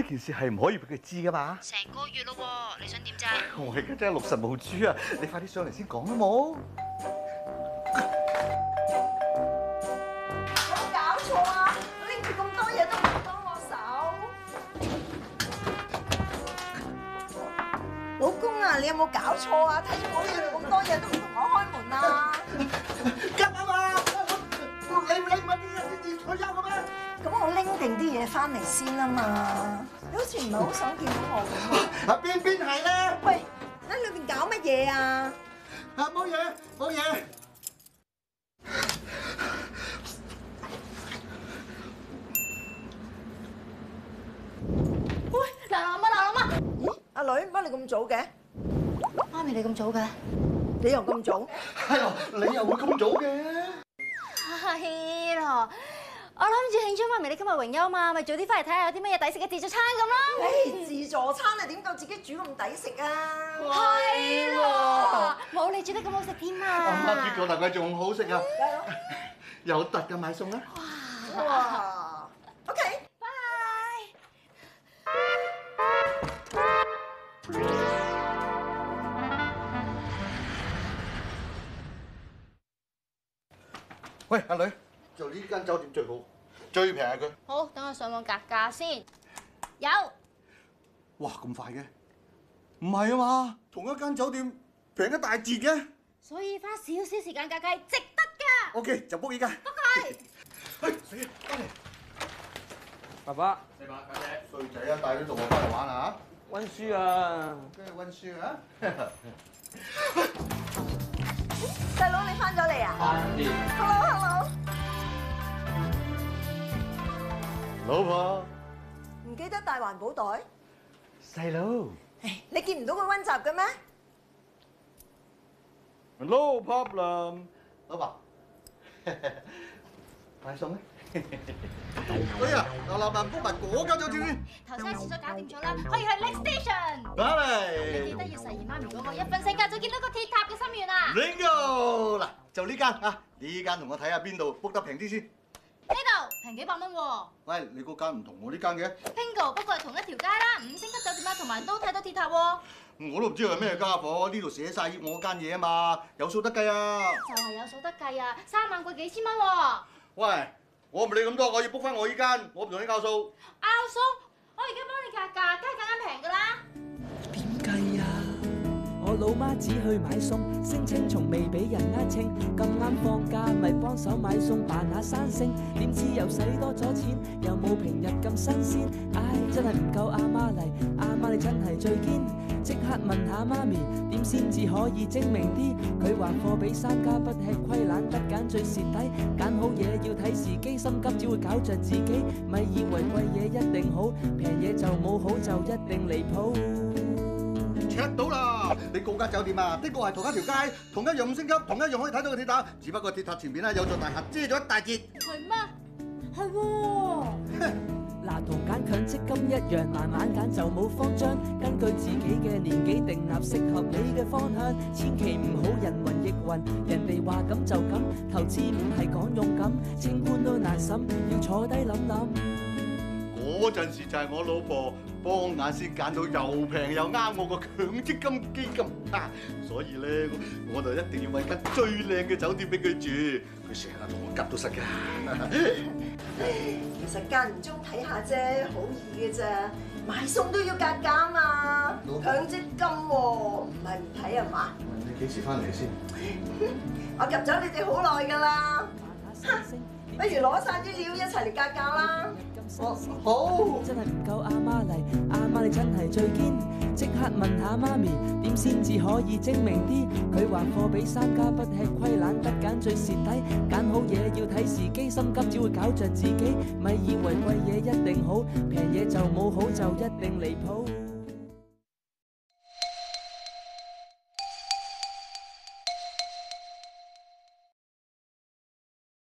呢件事係唔可以俾佢知噶嘛？ 成個月咯喎，你想點啫？ 我而家真係六神無主啊！你快啲上嚟先講好冇？ 有冇搞錯啊？拎住咁多嘢都唔幫我手。老公啊，你有冇搞錯啊？睇住我拎住咁多嘢都唔同我開門啊！ 急啊嘛！你唔係啲人先至退休嘅咩？ 咁我拎定啲嘢翻嚟先啊嘛！你好似唔係好想見到我咁啊！ 邊係咧？ 喂，喺裏邊搞乜嘢啊？ 冇嘢冇嘢。 喂，嗱媽， 咦，阿女，乜你咁早嘅？ 媽咪你咁早嘅？ 你又咁早？ 係咯，你又會咁早嘅？ 係咯，我諗住慶祝媽咪你今日榮休嘛，咪早啲翻嚟睇下有啲乜嘢抵食嘅自助餐咁咯。 誒，自助餐你點夠自己煮咁抵食啊？ 係咯，冇你煮得咁好食添啊！ 結果大概仲好食啊！有特嘅買餸啦！ 哇！OK。 喂，阿女，就呢間酒店最好，最平佢。 好，等我上網格價先。有。 哇，咁快嘅？唔係啊嘛，同一間酒店平一大截嘅。 所以花少少時間格價係值得㗎。 OK，就 book 依間。 不該。 去，死啊！翻嚟。 爸爸， 你話家姐，衰仔啊，帶啲同學翻嚟玩啊嚇！ 温書啊！ 跟住温書啊！ 細佬你翻咗嚟啊？Hello， 老婆， 唔記得帶環保袋？ 細佬你見唔到佢温習嘅咩？ ，no problem。 老婆，買餸咧？哎呀，我老闆 book 埋嗰間酒店先。 頭先喺廁所搞掂咗啦，可以去 next station。 翻你記得要實現媽咪嗰個一瞓醒覺就見到個鐵塔嘅心願啊！ Bingo！嗱，就呢間啊，呢間同我睇下邊度 book 得平啲先。 呢度平幾百蚊喎。 喂，你嗰間唔同我呢間嘅。 Bingo，不過係同一條街啦，5星級酒店啦，同埋都睇到鐵塔喎。 我都唔知係咩家伙，呢度寫晒我間嘢啊嘛，有數得計啊！ 就係有數得計啊，3萬貴幾千蚊喎。 喂，我唔理咁多，我要 book 翻我呢間，我唔同你拗數。 拗數？我而家幫你格價，梗係更加平㗎啦。 點計啊？我老媽只去買餸，聲稱從未俾人呃稱。咁啱放假，咪幫手買餸扮下生性。點知又使多咗錢，又冇平日咁新鮮。唉，真係唔夠阿媽嚟，阿媽你真係最堅。即刻問下媽咪，點先至可以精明啲？佢話貨比三家不吃虧，懶得揀最蝕底。揀好嘢要睇時機，心急只會搞着自己。咪以為貴嘢一定好，平嘢就冇好就一定離譜。 check 到啦！你嗰間酒店啊，的確係同一條街，同一樣5星級，同一樣可以睇到個鐵塔，只不過鐵塔前面咧有座大廈遮咗一大截。 係咩？係喎。 嗱，同揀強積金一樣，慢慢揀就冇慌張，根據自己嘅年紀定立適合你嘅方向，千祈唔好人云亦云，人哋話咁就咁，投資唔係講勇敢，清官都難審，要坐低諗諗。 嗰陣時就係我老婆幫眼先揀到又平又啱我個強積金基金啊，所以咧我就一定要揾間最靚嘅酒店俾佢住，佢成日同我急到實㗎。 其實間唔中睇下啫，好易嘅咋，買餸都要格價嘛，強積金喎，唔係唔睇啊嘛？ 你幾時翻嚟先？ 我及咗你哋好耐㗎啦，不如攞晒啲料一齊嚟格價啦。好， 真係唔夠阿媽嚟，阿媽你真係最堅。即刻問下媽咪，點先至可以精明啲？佢話貨比三家不吃虧，懶得揀最蝕底。揀好嘢要睇時機，心急只會搞着自己。咪以為貴嘢一定好，平嘢就冇好就一定離譜。